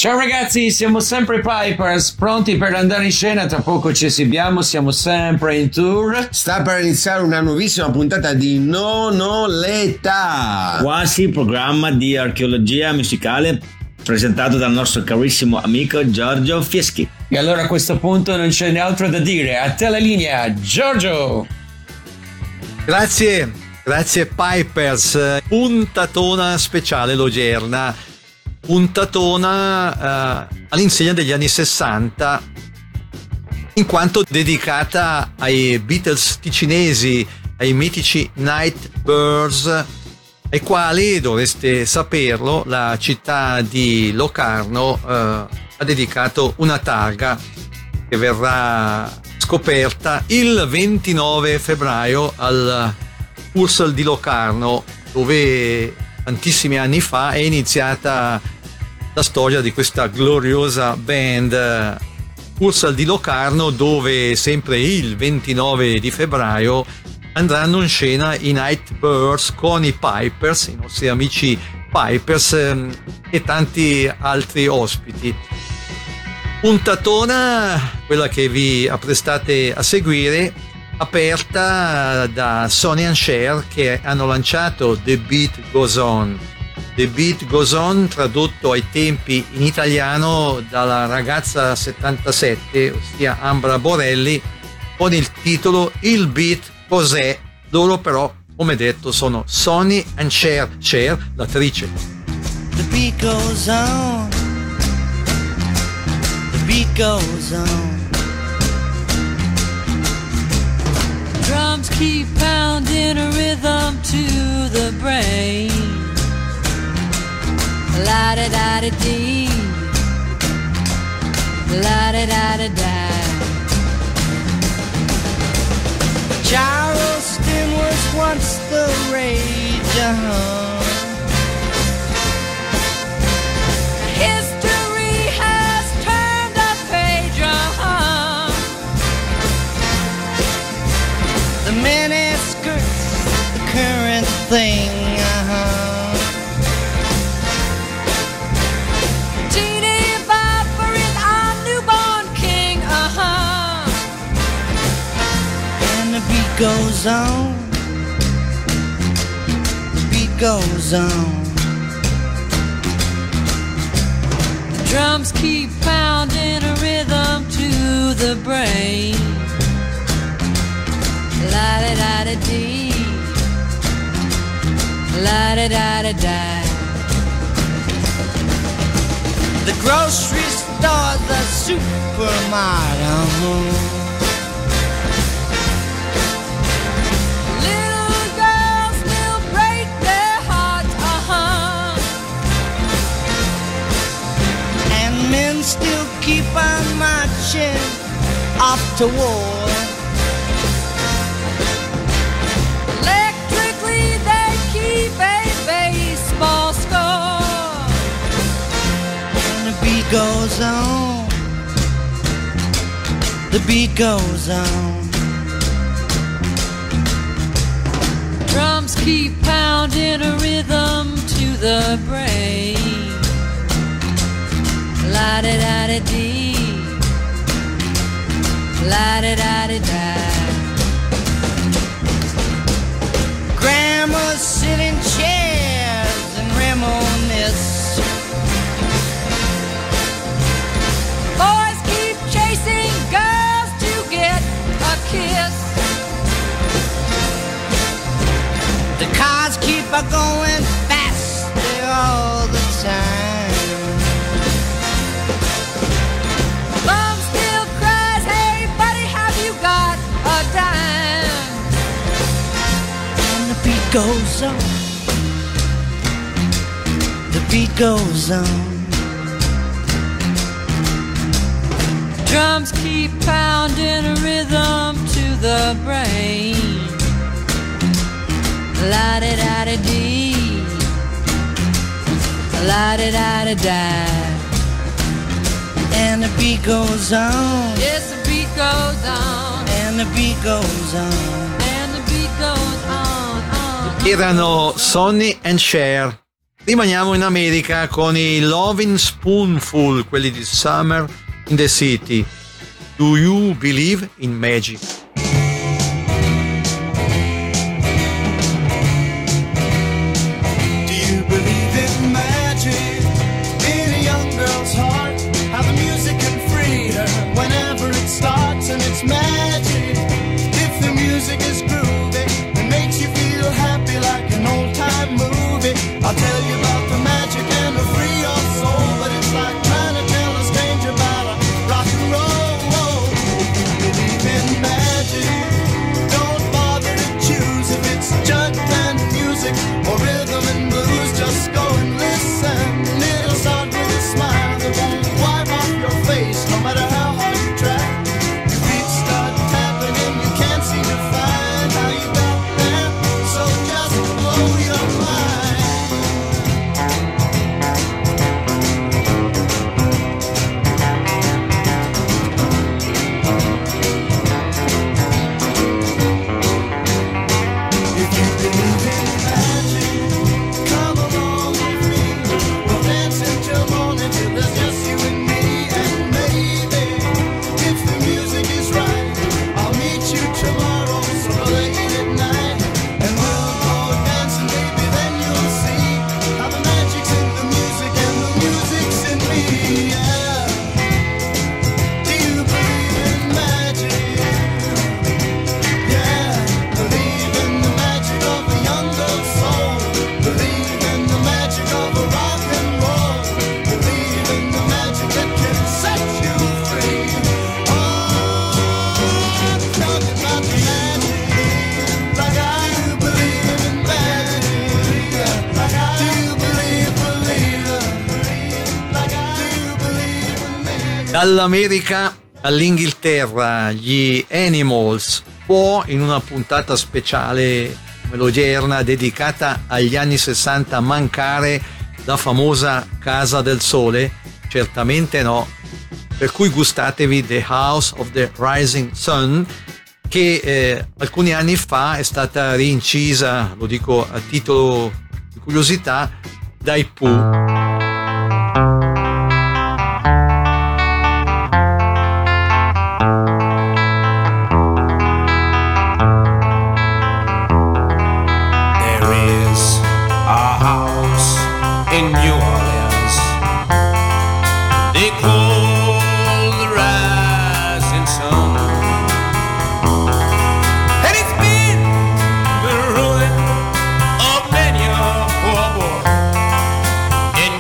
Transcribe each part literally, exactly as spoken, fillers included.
Ciao ragazzi, siamo sempre Pipers, pronti per andare in scena, tra poco ci esibiamo, siamo sempre in tour. Sta per iniziare una nuovissima puntata di Non ho l'età, quasi programma di archeologia musicale presentato dal nostro carissimo amico Giorgio Fieschi. E allora a questo punto non c'è altro da dire, a te la linea, Giorgio! Grazie, grazie Pipers, puntatona speciale l'odierna. Puntatona eh, all'insegna degli anni sessanta, in quanto dedicata ai Beatles ticinesi, ai mitici Nightbirds, ai quali, dovreste saperlo, la città di Locarno eh, ha dedicato una targa che verrà scoperta il ventinove febbraio al Ursel di Locarno, dove tantissimi anni fa è iniziata la storia di questa gloriosa band Ursel di Locarno, dove sempre il ventinove di febbraio andranno in scena i Nightbirds con i Pipers, i nostri amici Pipers e tanti altri ospiti. Puntatona, quella che vi apprestate a seguire, aperta da Sonny and Cher, che hanno lanciato The Beat Goes On. The Beat Goes On, tradotto ai tempi in italiano dalla ragazza settantasette, ossia Ambra Borelli, con il titolo Il Beat Cos'è. Loro però, come detto, sono Sonny and Cher, Cher, l'attrice. The beat goes on, the beat goes on, drums keep pounding a rhythm to the brain. La da da da dee, la da da da da. Charleston was once the rage, uh-huh. History has turned a page, uh-huh. The mini skirts, the current thing, uh-huh. The beat goes on, the beat goes on, the drums keep pounding a rhythm to the brain. La da da da dee, la da da da da. The grocery store, the supermarket. Men still keep on marching off to war. Electrically they keep a baseball score. And the beat goes on, the beat goes on, drums keep pounding a rhythm to the brain. La da da da dee, la da da da da. Grandmas sit in chairs and reminisce. Boys keep chasing girls to get a kiss. The cars keep a going faster all the time. Goes on, the beat goes on, drums keep pounding a rhythm to the brain. La da da da dee, la da da da da. And the beat goes on, yes the beat goes on, and the beat goes on, and the beat goes on. Erano Sonny and Cher Rimaniamo in America con i Lovin' Spoonful, quelli di Summer in the City. Do you believe in magic? I'll tell you about the magic and the free your soul, but it's like trying to tell a stranger about a rock and roll. Believe in magic, don't bother to choose if it's jug band music or rhythm and blues. Just go and listen. It'll start with a smile that won't wipe off your face, no matter how hard you try. Your feet start tapping and you can't seem to find how you got there, so just blow your mind. Dall'America all'Inghilterra, gli Animals, può in una puntata speciale come l'odierna dedicata agli anni sessanta mancare la famosa Casa del Sole? Certamente no, per cui gustatevi The House of the Rising Sun, che eh, alcuni anni fa è stata rincisa, lo dico a titolo di curiosità, dai Pooh. In New Orleans, they call the rising sun, and it's been the ruin of many a poor boy. And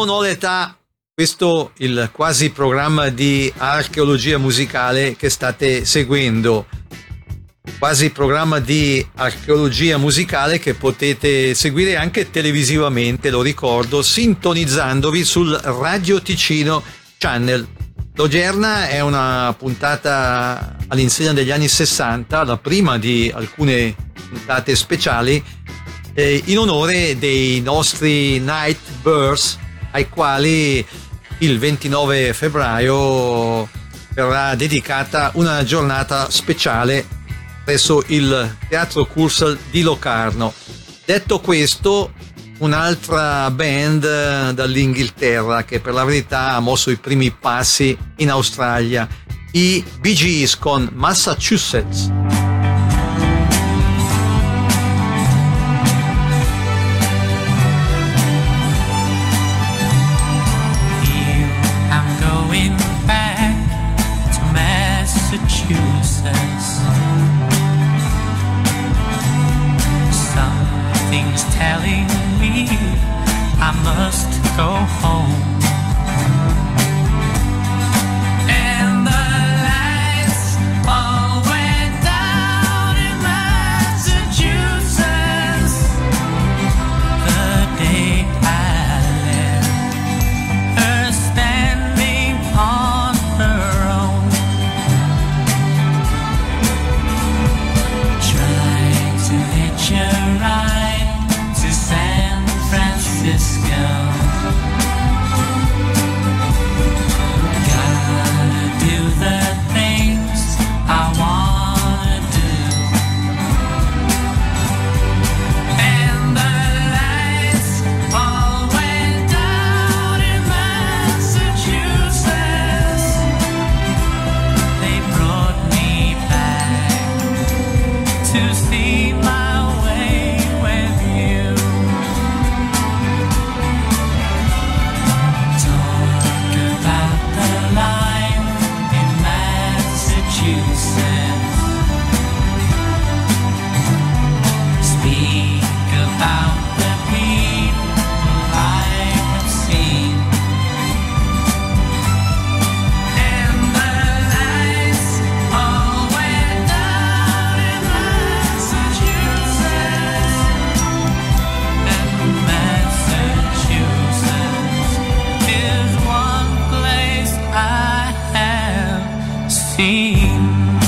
non ho l'età, questo il quasi programma di archeologia musicale che state seguendo. Quasi programma di archeologia musicale che potete seguire anche televisivamente, lo ricordo, sintonizzandovi sul Radio Ticino Channel. L'odierna è una puntata all'insegna degli anni sessanta, la prima di alcune puntate speciali eh, in onore dei nostri Night Birds, ai quali il ventinove febbraio verrà dedicata una giornata speciale presso il Teatro Cursal di Locarno. Detto questo, un'altra band dall'Inghilterra che per la verità ha mosso i primi passi in Australia, i Bee Gees con Massachusetts. Something's telling me I must go home. And the lights all went down in Massachusetts the day I left her standing on her own, trying to hitch a ride to San Francisco. Gotta do the things I wanna do. And the lights all went down in Massachusetts. They brought me back to see my way with you. Talk about the life in Massachusetts. Speak about the people I have seen. And the lights all went down in Massachusetts. And Massachusetts is one place I have seen.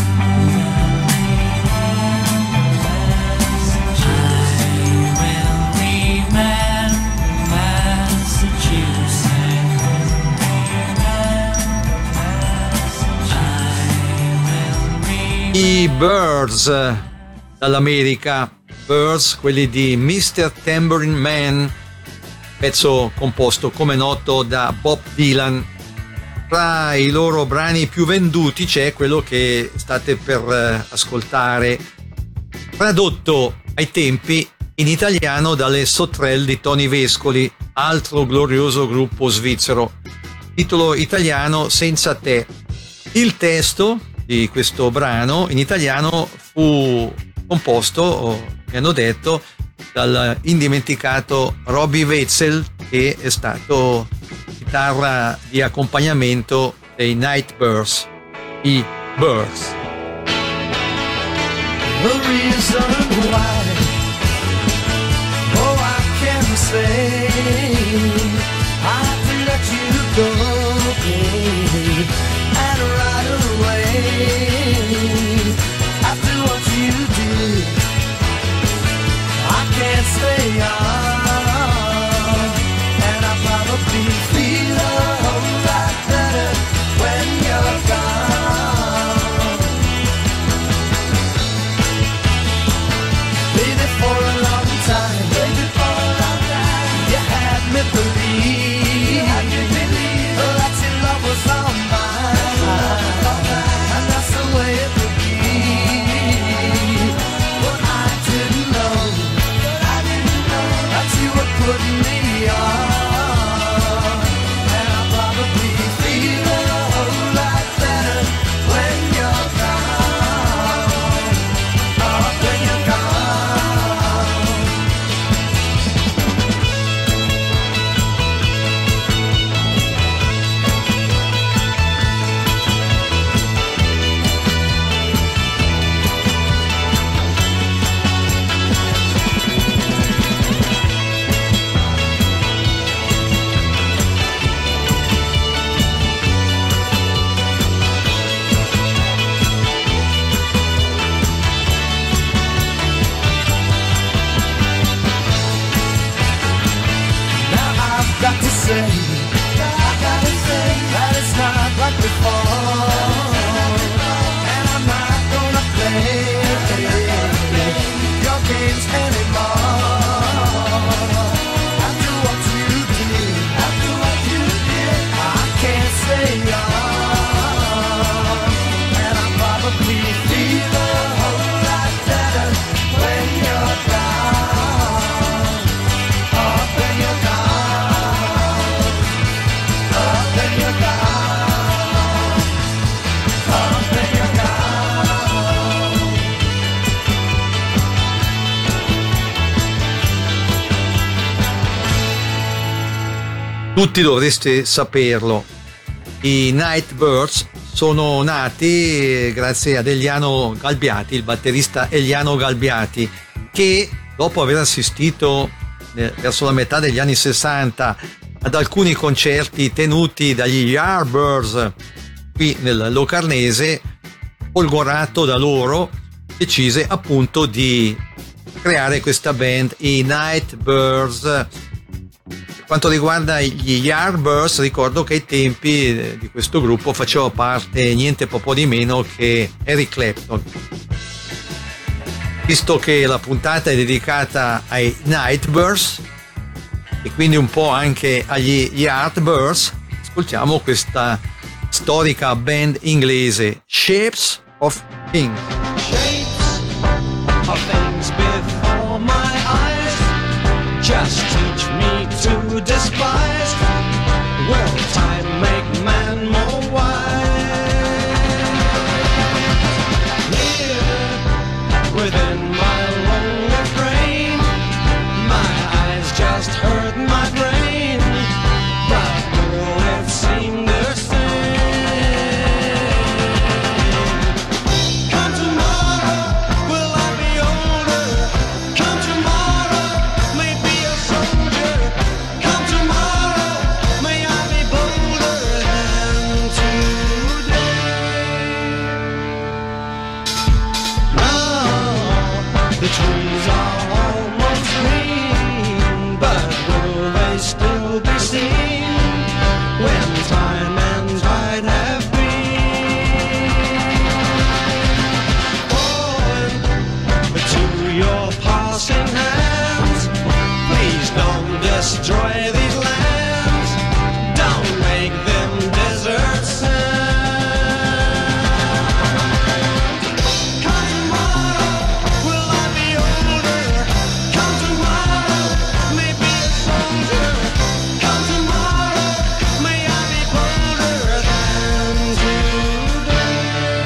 I will remember Massachusetts. I will remember. I Birds dall'America, Birds, quelli di mister Tambourine Man, pezzo composto come noto da Bob Dylan. Tra i loro brani più venduti c'è quello che state per eh, ascoltare, tradotto ai tempi in italiano dalle Sottrell di Tony Vescoli, altro glorioso gruppo svizzero. Titolo italiano Senza te. Il testo di questo brano in italiano fu composto, o mi hanno detto, dal indimenticato Robbie Wetzel, che è stato chitarra di accompagnamento dei Night Birds, i Birds. The reason why, oh, I can say I have to let you go, baby, and right away, after what you did, I can't stay on, and I probably feel a whole lot better when you're gone. Baby, for a long time, baby, for a long time, you had me believe, you had me believe that your love was all mine, and that's the way it would be. But I didn't know, I didn't know got to say, I gotta say that it's not like before, and I'm not gonna play your games anymore. After what you did, after what you did, I can't stay on, and I probably feel a whole lot better when you're gone. Oh, when you're gone. Oh, when you're gone. Oh, when you're gone. Tutti dovreste saperlo. I Nightbirds sono nati grazie ad Eliano Galbiati, il batterista Eliano Galbiati, che dopo aver assistito eh, verso la metà degli anni sessanta ad alcuni concerti tenuti dagli Yardbirds qui nel Locarnese, folgorato da loro, decise appunto di creare questa band, i Nightbirds. Per quanto riguarda gli Yardbirds, ricordo che ai tempi di questo gruppo faceva parte niente poco di meno che Eric Clapton. Visto che la puntata è dedicata ai Nightbirds e quindi un po' anche agli Yardbirds, ascoltiamo questa storica band inglese, Shapes of Things. Shapes of things before my eyes, just teach me to despise. Will time make man more wise? Here within my lonely brain, my eyes just hurt my brain, but will it seem the same? Come tomorrow, will I be older? Come tomorrow, may be a soldier. Come tomorrow, may I be bolder than today. Now the trees are almost green, but will they still be seen when time and tide have been? Point to your passing hands, please don't destroy these lands, don't make them desert sands. Come tomorrow, will I be older? Come tomorrow, may be a soldier. Come tomorrow, may I be bolder than today.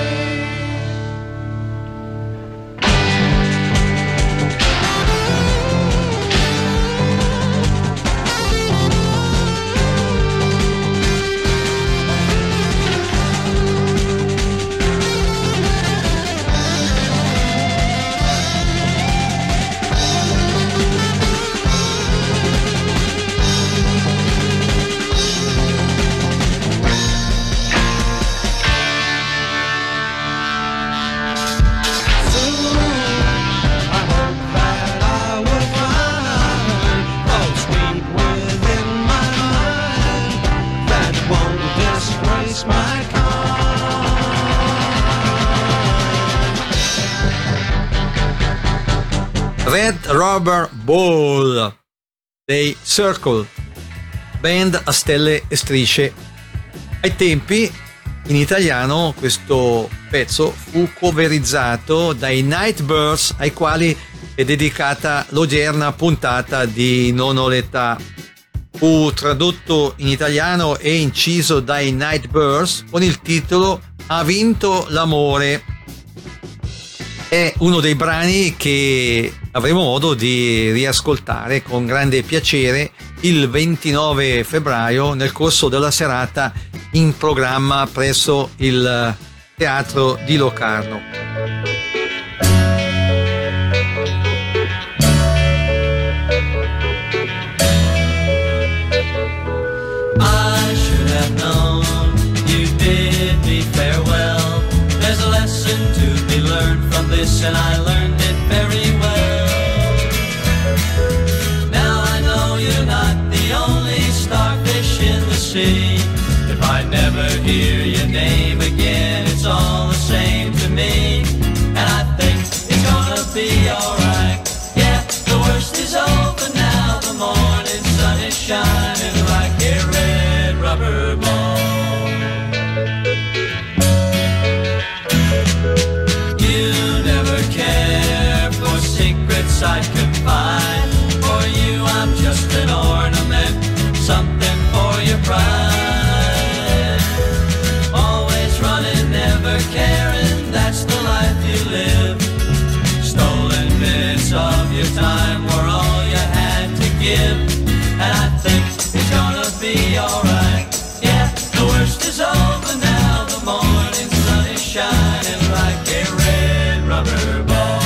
Red Rubber Ball dei Circle, band a stelle e strisce. Ai tempi in italiano questo pezzo fu coverizzato dai Nightbirds, ai quali è dedicata l'odierna puntata di Non ho l'età. Fu tradotto in italiano e inciso dai Nightbirds con il titolo Ha vinto l'amore. È uno dei brani che avremo modo di riascoltare con grande piacere il ventinove febbraio nel corso della serata in programma presso il Teatro di Locarno. I should have known you bid me farewell. There's a lesson to be learned from this, and I learned it very well. Now I know you're not the only star give, and I think it's gonna be alright. Yeah, the worst is over now, the morning sun is shining like a red rubber ball.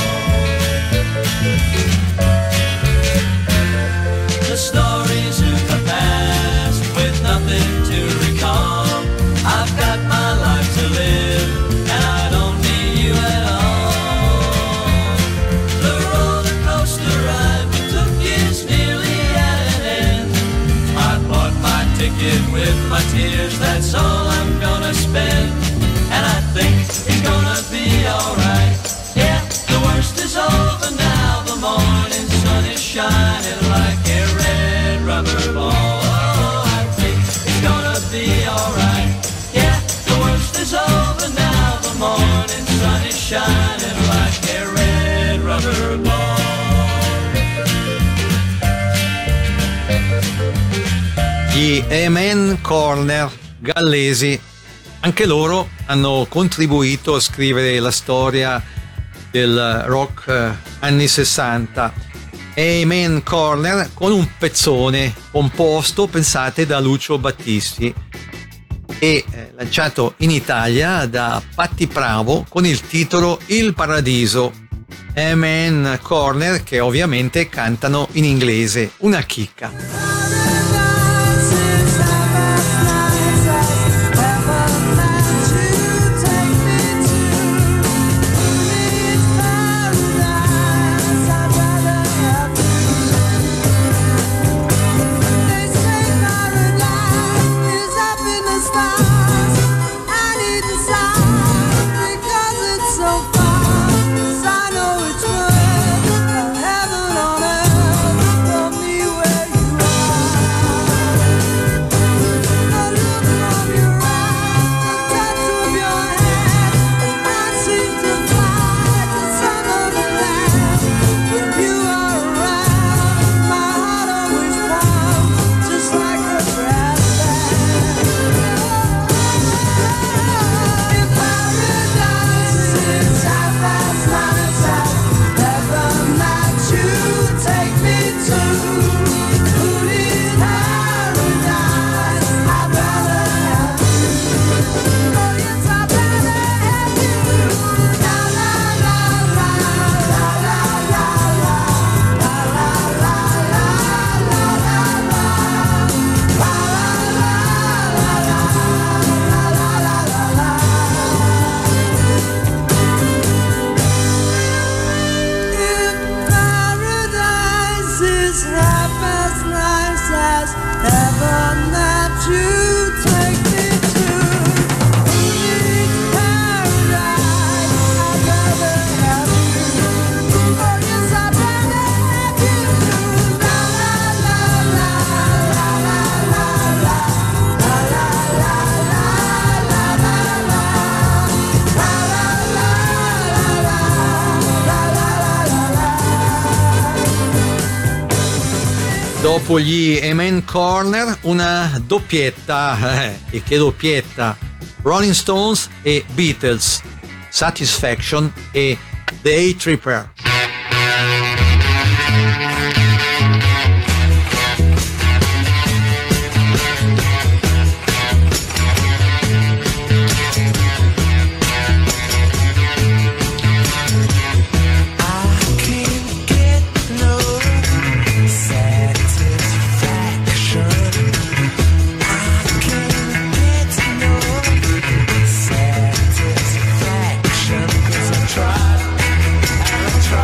The stories of the past with nothing to recall. I've got my life to live, and I don't need you at all. The roller coaster ride we took is nearly at an end. I bought my ticket with my tears, that's all I'm gonna spend. And I think it's gonna be alright. Yeah, the worst is over now, the morning sun is shining like a red rubber ball. Oh, I think it's gonna be alright. Yeah, the worst is over now, the morning sun is shining like a red rubber ball. Gli Amen Corner gallesi, anche loro hanno contribuito a scrivere la storia del rock eh, anni sessanta. Amen Corner con un pezzone composto, pensate, da Lucio Battisti e eh, lanciato in Italia da Patti Bravo con il titolo Il Paradiso. Amen Corner, che ovviamente cantano in inglese, una chicca. Dopo gli Amen Corner, una doppietta, eh, e che doppietta, Rolling Stones e Beatles, Satisfaction e Day Tripper. Try, I try.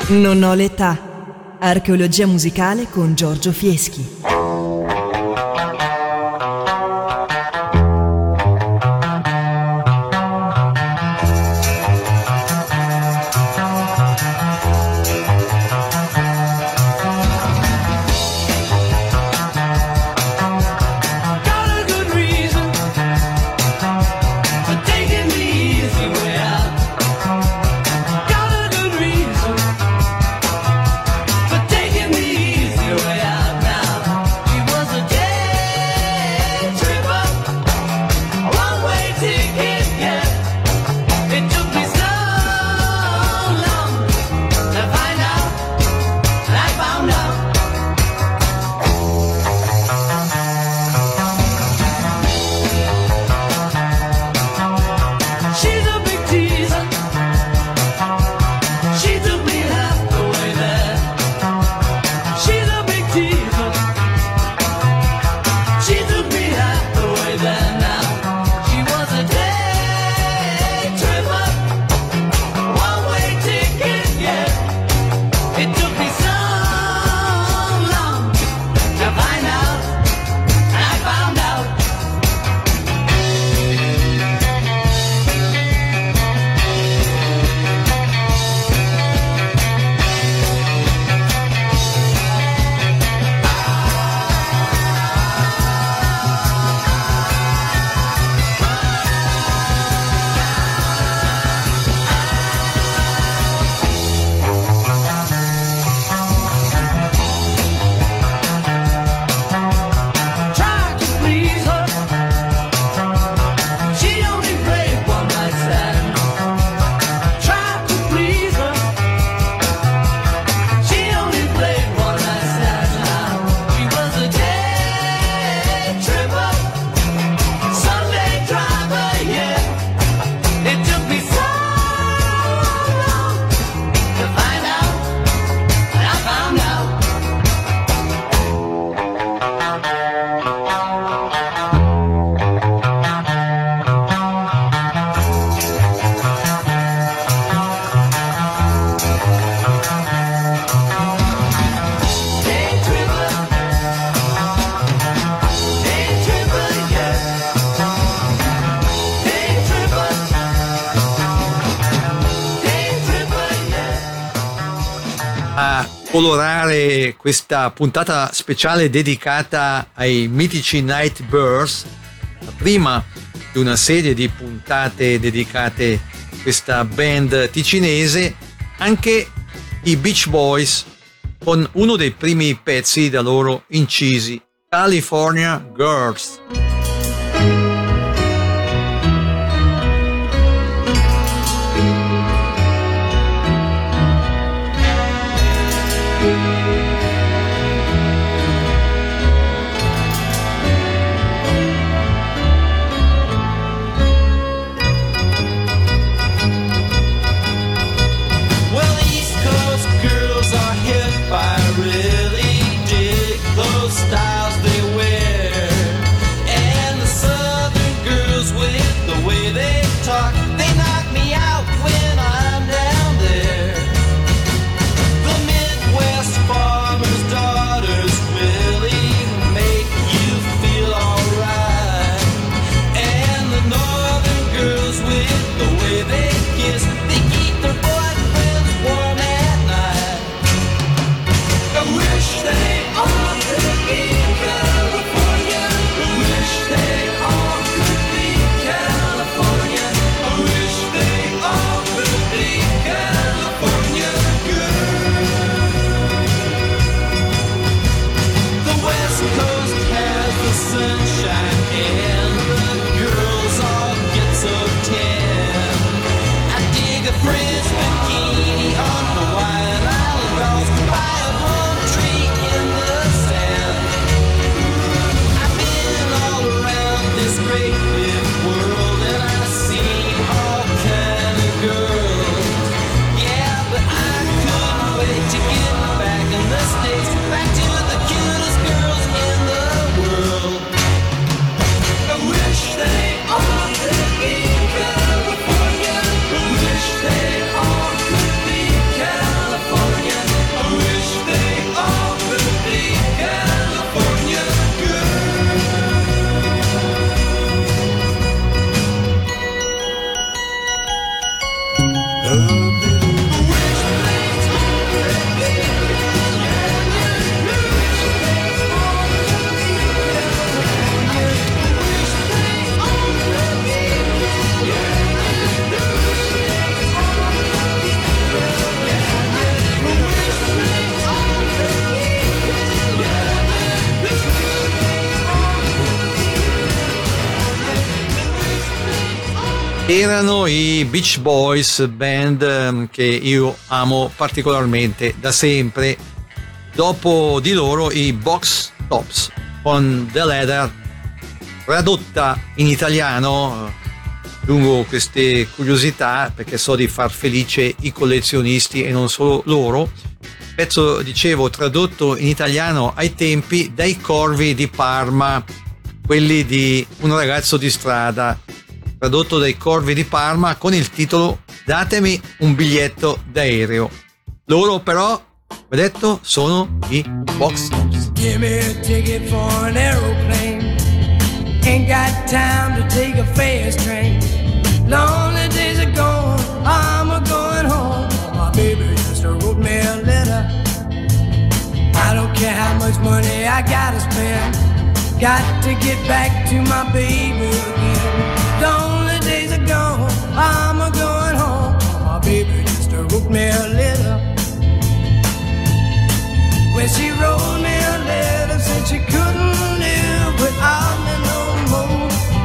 Non ho l'età. Archeologia musicale con Giorgio Fieschi. Colorare questa puntata speciale dedicata ai mitici Nightbirds, la prima di una serie di puntate dedicate a questa band ticinese, anche i Beach Boys con uno dei primi pezzi da loro incisi, California Girls. Really dig those styles they wear. Erano i Beach Boys, band ehm, che io amo particolarmente da sempre. Dopo di loro i Box Tops con The Leather, tradotta in italiano, eh, lungo queste curiosità perché so di far felice i collezionisti e non solo loro. Pezzo, dicevo, tradotto in italiano ai tempi dai Corvi di Parma, quelli di Un ragazzo di strada, tradotto dai Corvi di Parma con il titolo Datemi un biglietto d'aereo. Loro però, ho detto, sono i Box Tops. Give me a ticket for an aeroplane. Ain't got time to take a fast train. Lonely days are gone, I'm a going home. My baby just wrote me a letter. I don't care how much money I gotta spend. Got to get back to my baby again. Lonely days are gone, I'm a going home. My baby just wrote me a letter. When she wrote me a letter, said she couldn't live without me no more.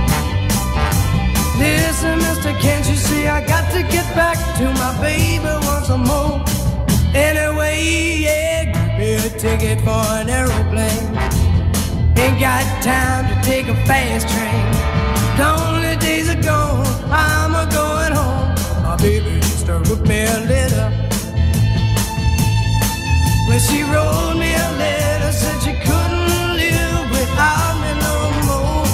Listen, mister, can't you see I got to get back to my baby once more? Anyway, yeah, give me a ticket for an aeroplane. Ain't got time to take a fast train. Lonely days are gone, I'm a going home. My baby just wrote me a letter. When she wrote me a letter, said she couldn't live without me no more.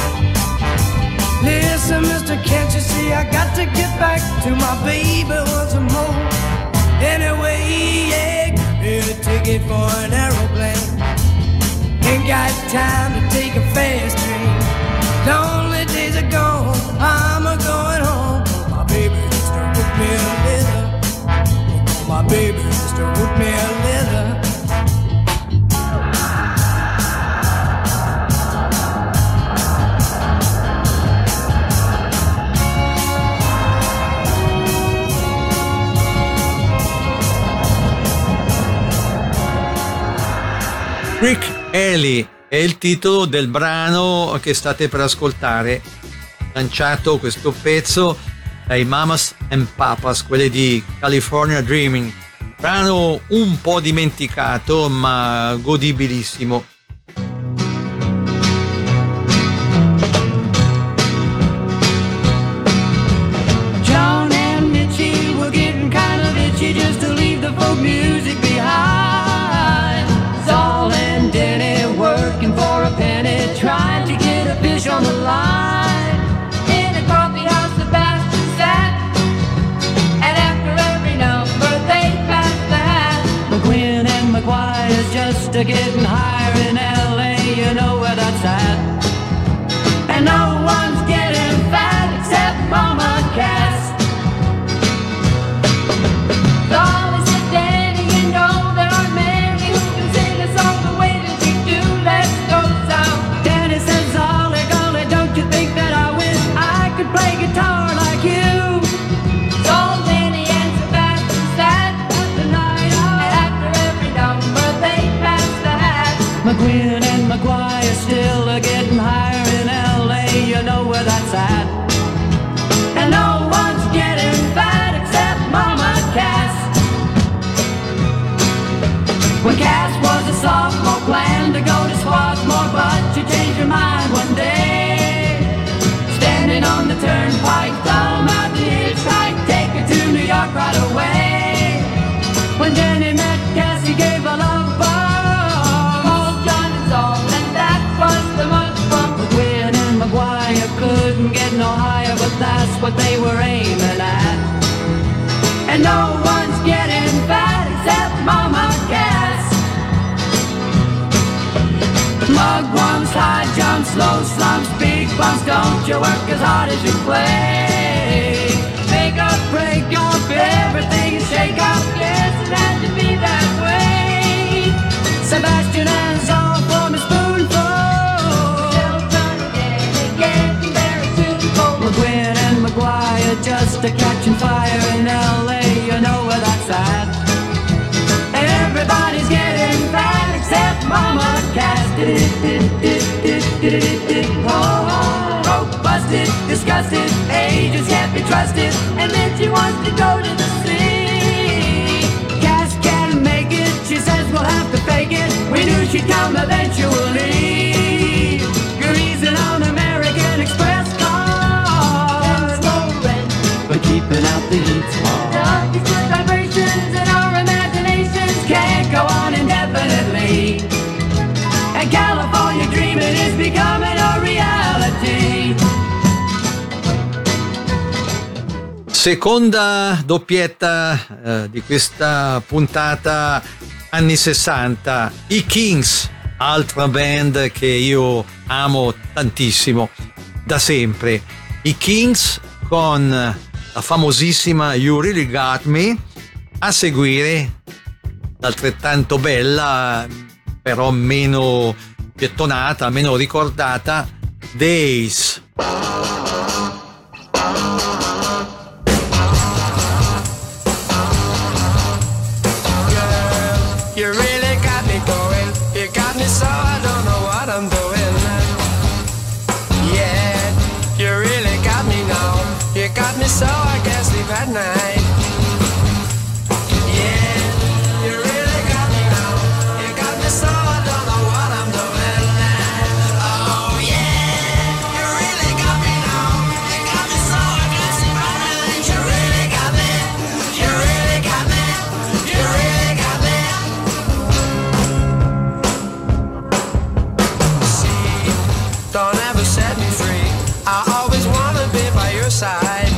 Listen, mister, can't you see I got to get back to my baby once more? Anyway, yeah, give me a ticket for an aeroplane. Ain't got time to take a fast train. Lonely days are gone, I'm a going home. My baby just wrote me a letter. My baby just wrote me a letter. Rick Haley è il titolo del brano che state per ascoltare, lanciato questo pezzo dai Mamas and Papas, quelli di California Dreaming, brano un po' dimenticato ma godibilissimo. John and Mitchie were getting kind of itchy just to leave the folk music behind. Saul and Denny working for a penny, trying to get a fish on the line. In a coffee house, Sebastian sat, and after every number they passed the hat. McQueen and McGuire's just a getting higher in L A, you know where that's at. And no one's getting fat except Mama Cass. Saul is a Danny, you know there are many who can sing a song the way that you do. Let's go south. Danny says, Ollie, golly, don't you think that I wish I could play guitar like you? Saul, Danny, and Sebastian sat at the night out, and after every number they passed the hat. McQueen and McGuire still are getting higher in L A, you know where that's at. And no one's getting fat except Mama Cass. When Cass was a sophomore, planned to go to Swarthmore, but you changed your mind one day. Standing on the turnpike, thumb out the hitchhike, take her to New York right away. When Jenny met Cass, he gave a love bomb, old John and Saul, and that was the month from McQueen and McGuire couldn't get no higher, but that's what they were aiming at. And no one's getting fat except Mama Cass. Mugwumps, high jumps, slow slumps, big bumps, don't you work as hard as you play. Make up, break up, everything is shake up, yes, it had to be that way. Sebastian and Saul form a spoonful, they'll turn again, again, very soon. McQueen and McGuire just a catching fire in L A, you know where that's at. Everybody's getting fat except Mama Cass. Oh, oh, rope busting. busted, disgusted, agents can't be trusted, and then she wants to go to the sea. Cash can't make it, she says we'll have to fake it, we knew she'd come eventually. Greasing on American Express cars, no rent, but keeping out the heat. These good vibrations and our imaginations can't go on indefinitely. And California dreaming is becoming a reality. Seconda doppietta eh, di questa puntata anni sessanta, i Kings, altra band che io amo tantissimo da sempre. I Kings con la famosissima You Really Got Me, a seguire l'altrettanto bella però meno gettonata, meno ricordata, Days. You really got me going. You got me so I don't know what I'm doing. Yeah, you really got me now. You got me so I can't sleep at night. Yeah, you really got me now. You got me so I don't know what I'm doing. Oh yeah, you really got me now. You got me so I can't sleep at night. You really got me. You really got me. You really got me. Don't ever set me free. I always wanna be by your side.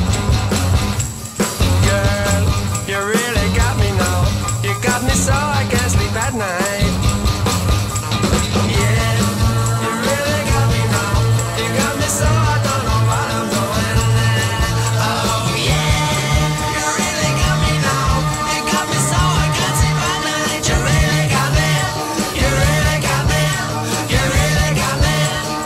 Girl, you really got me now. You got me so I can't sleep at night. Yeah, you really got me now. You got me so I don't know what I'm doing. Oh yeah, you really got me now. You got me so I can't sleep at night. You really got me. You really got me. You really got me.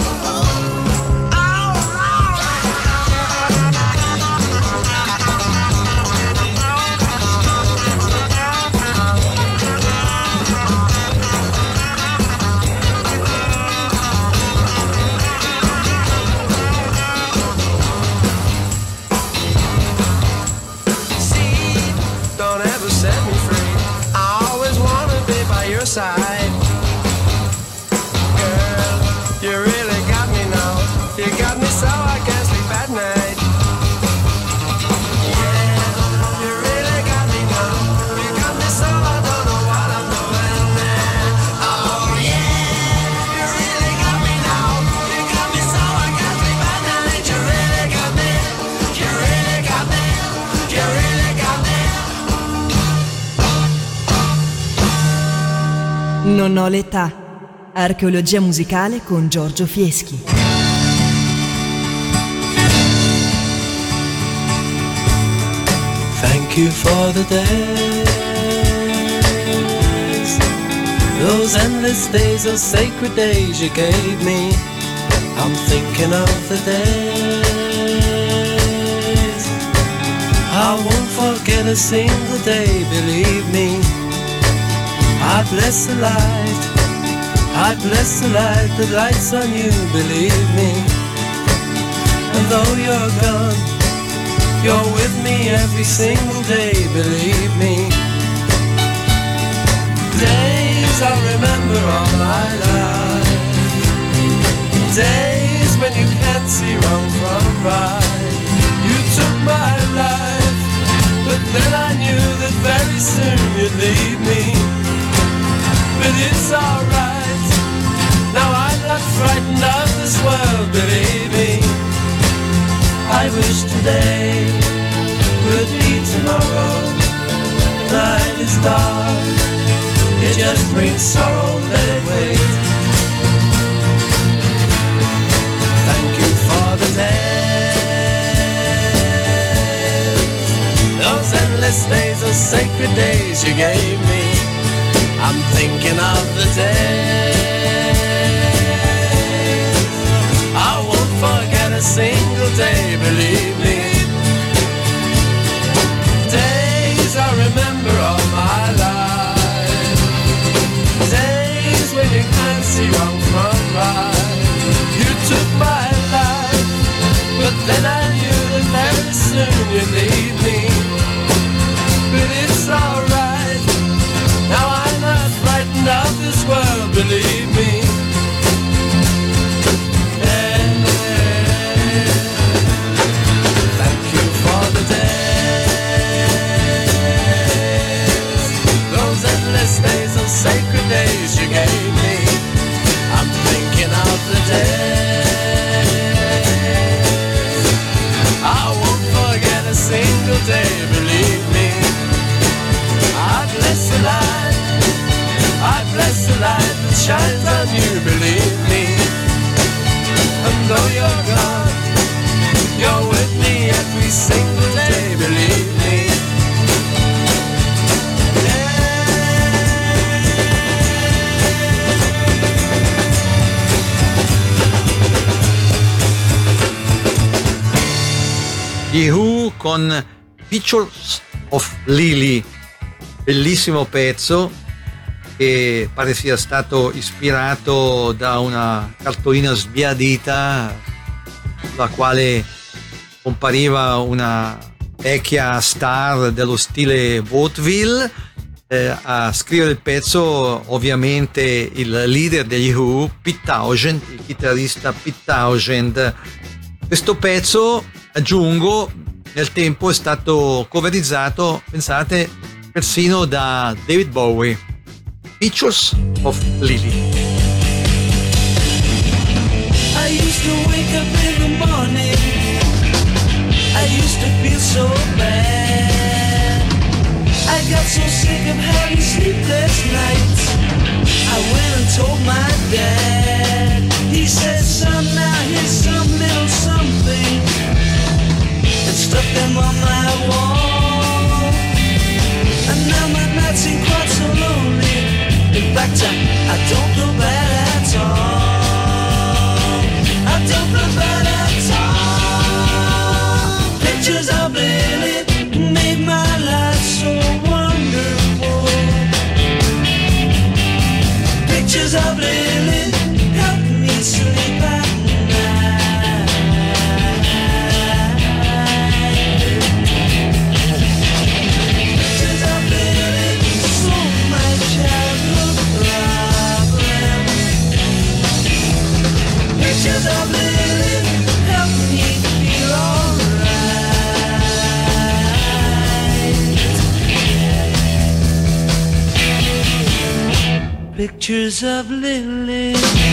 Don't ever set me free. I always wanna be by your side. Girl, you really got me now. You got me so I can't sleep at night. Yeah, you really got me now. You got me so I don't know what I'm doing. Oh yeah, you really got me now. You got me so I can't sleep at night. You really got me. You really got me. You really got me. Non ho l'età. Archeologia musicale con Giorgio Fieschi. Thank you for the days, those endless days, those sacred days you gave me. I'm thinking of the days I won't forget a single day, believe me. I bless the light, I bless the light that lights on you, believe me. And though you're gone, you're with me every single day, believe me. Days I'll remember all my life, days when you can't see wrong from right. You took my life, but then I knew that very soon you'd leave me. But it's alright, now I'm not frightened of this world, believe me. I wish today would be tomorrow. Night is dark, it just brings sorrow, let it wait. Thank you for the days, those endless days, those sacred days you gave me. I'm thinking of the days I won't forget a single day, believe me. Days I remember all my life, days when you can't see wrong from right. You took my life, day, believe me. I bless the light, I bless the light that shines on you, believe me. And though you're gone, you're with me every single day, believe me. Gli Who con Pictures of Lily, bellissimo pezzo che pare sia stato ispirato da una cartolina sbiadita la quale compariva una vecchia star dello stile vaudeville. Eh, a scrivere il pezzo ovviamente il leader degli Who, Pete Townshend, il chitarrista Pete Townshend. Questo pezzo, aggiungo, nel tempo è stato coverizzato, pensate, persino da David Bowie. Pictures of Lily. I used to wake up in the morning, I used to feel so bad. I got so sick of having sleepless nights, I went and told my dad. He said, son, now here's some little something, and stuck them on my wall. And now my nights ain't quite so lonely, in fact I, I don't feel bad at all. I don't feel bad at all. Pictures of Lily made my life so wonderful. Pictures of Lily help me sleep at night. Pictures of Lily solved my childhood problems. Pictures of Lily help me feel alright. Pictures of Lily,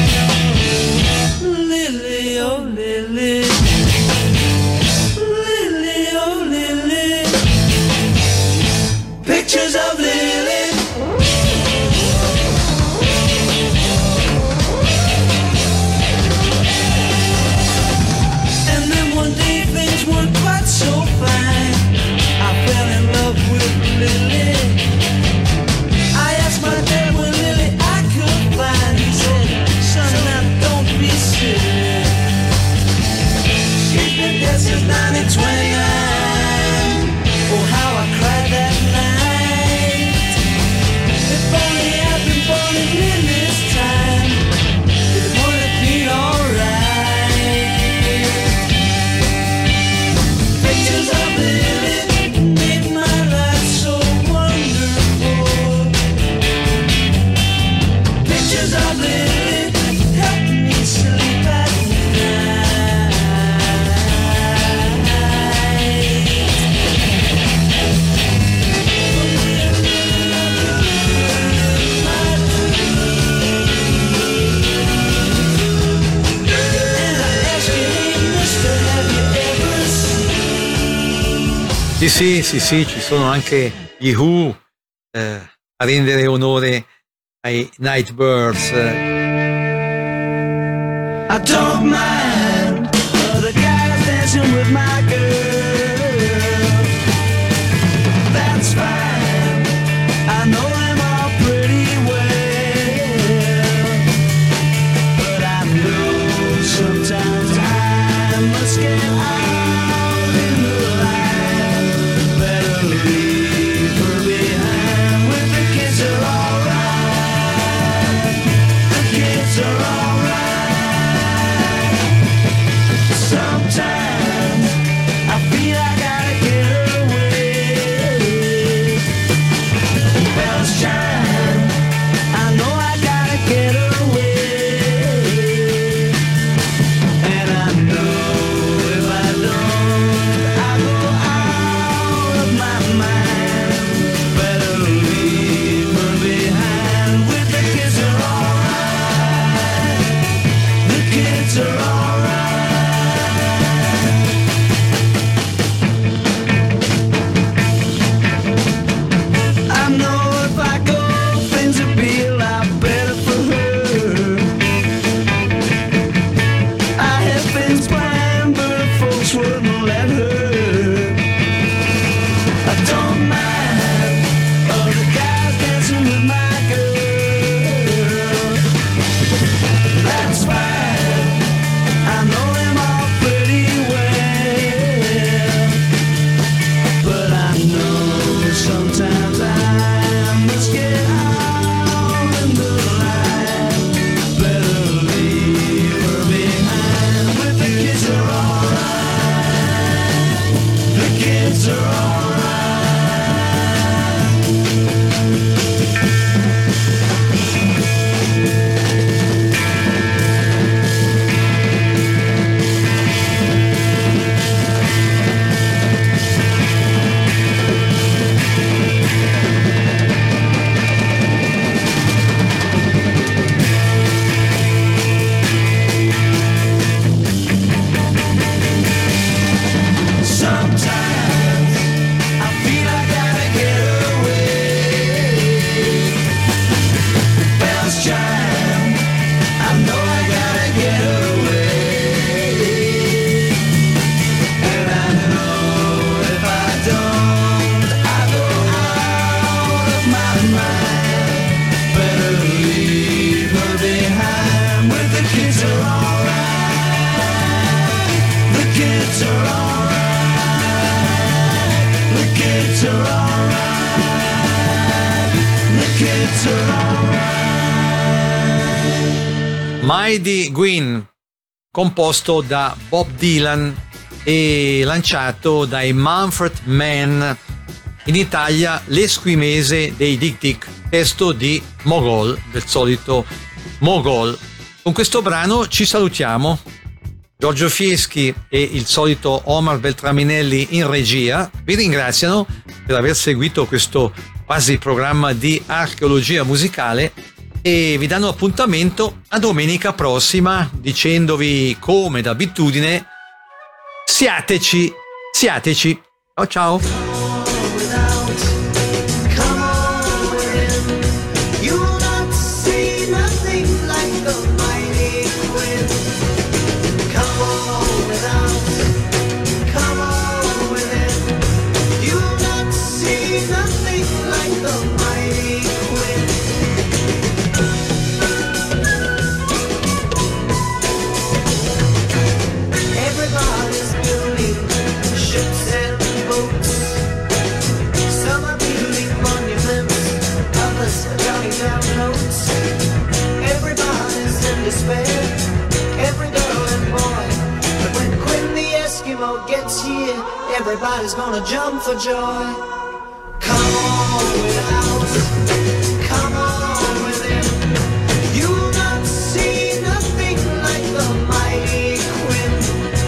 Lily, oh Lily, Lily, oh Lily, pictures of Lily. And then one day things weren't quite so fine, I fell in love with Lily. I asked my dad where Lily I could find. He said, son, now don't be silly. She's been dead since nineteen twenty-nine. Oh, how I cried that night. If only I'd been born in Lily's time, it would have been alright. Pictures of Lily made my life so wonderful. Pictures of Lily help me sleep at night. And I ask you, hey mister, have you ever seen? Sì, sì, sì, sì, ci sono anche gli Who eh, a rendere onore ai Nightbirds. I don't mind the guys dancing with my girl. That's fine. I know them all pretty well. But I know sometimes I must get out in the light. Better leave her behind when the kids are alright. The kids are alright. Sometimes I Mighty Queen, composto da Bob Dylan e lanciato dai Manfred Mann, in Italia L'esquimese dei Dick Dick, testo di Mogol, del solito Mogol. Con questo brano ci salutiamo. Giorgio Fieschi e il solito Omar Beltraminelli in regia vi ringraziano per aver seguito questo quasi programma di archeologia musicale e vi danno appuntamento a domenica prossima dicendovi come d'abitudine siateci, siateci. Ciao ciao. Gets here, everybody's gonna jump for joy. Come on without, come on with him. You'll not see nothing like the mighty Quinn.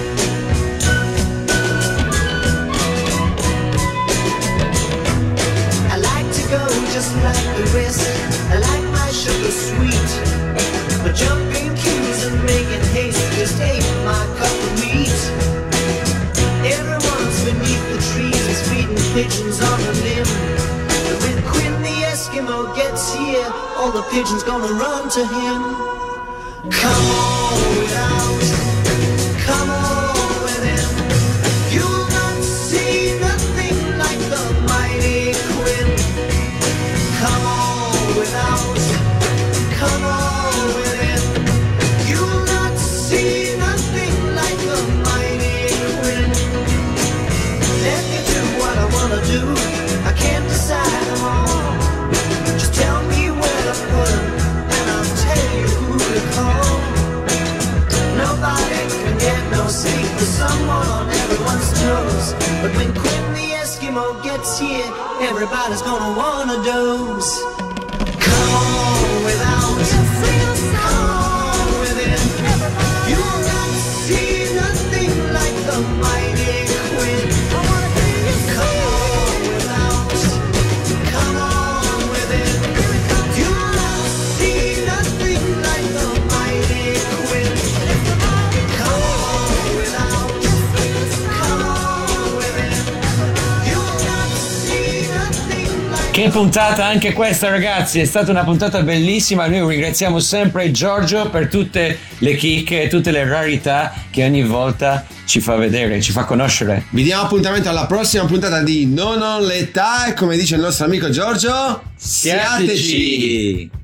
I like to go just like the rest. I like my sugar sweet, but jumping queues and making haste just ain't my cup of meat. Everyone's beneath the trees, feeding pigeons on a limb. But when Quinn the Eskimo gets here, all the pigeons gonna run to him. Come on without, come on with him. You'll not see nothing like the mighty Quinn. Come on without, come on with him. You'll not see nothing like the mighty Quinn. Let me do what I wanna do. I can't decide them all. Just tell me where to put them, and I'll tell you who to call. Nobody can get no sleep with someone on everyone's toes. But when Quinn the Eskimo gets here, everybody's gonna wanna doze. Come on without, come on with him. You'll not see nothing like the mighty Quinn. Come on without, come on with him. You'll not see nothing like the mighty Quinn. Come on without, come on with him. You'll not see nothing like. Che puntata anche questa, ragazzi, è stata una puntata bellissima. Noi ringraziamo sempre Giorgio per tutte le chicche e tutte le rarità che ogni volta ci fa vedere, ci fa conoscere. Vi diamo appuntamento alla prossima puntata di Non ho l'età e come dice il nostro amico Giorgio, siateci!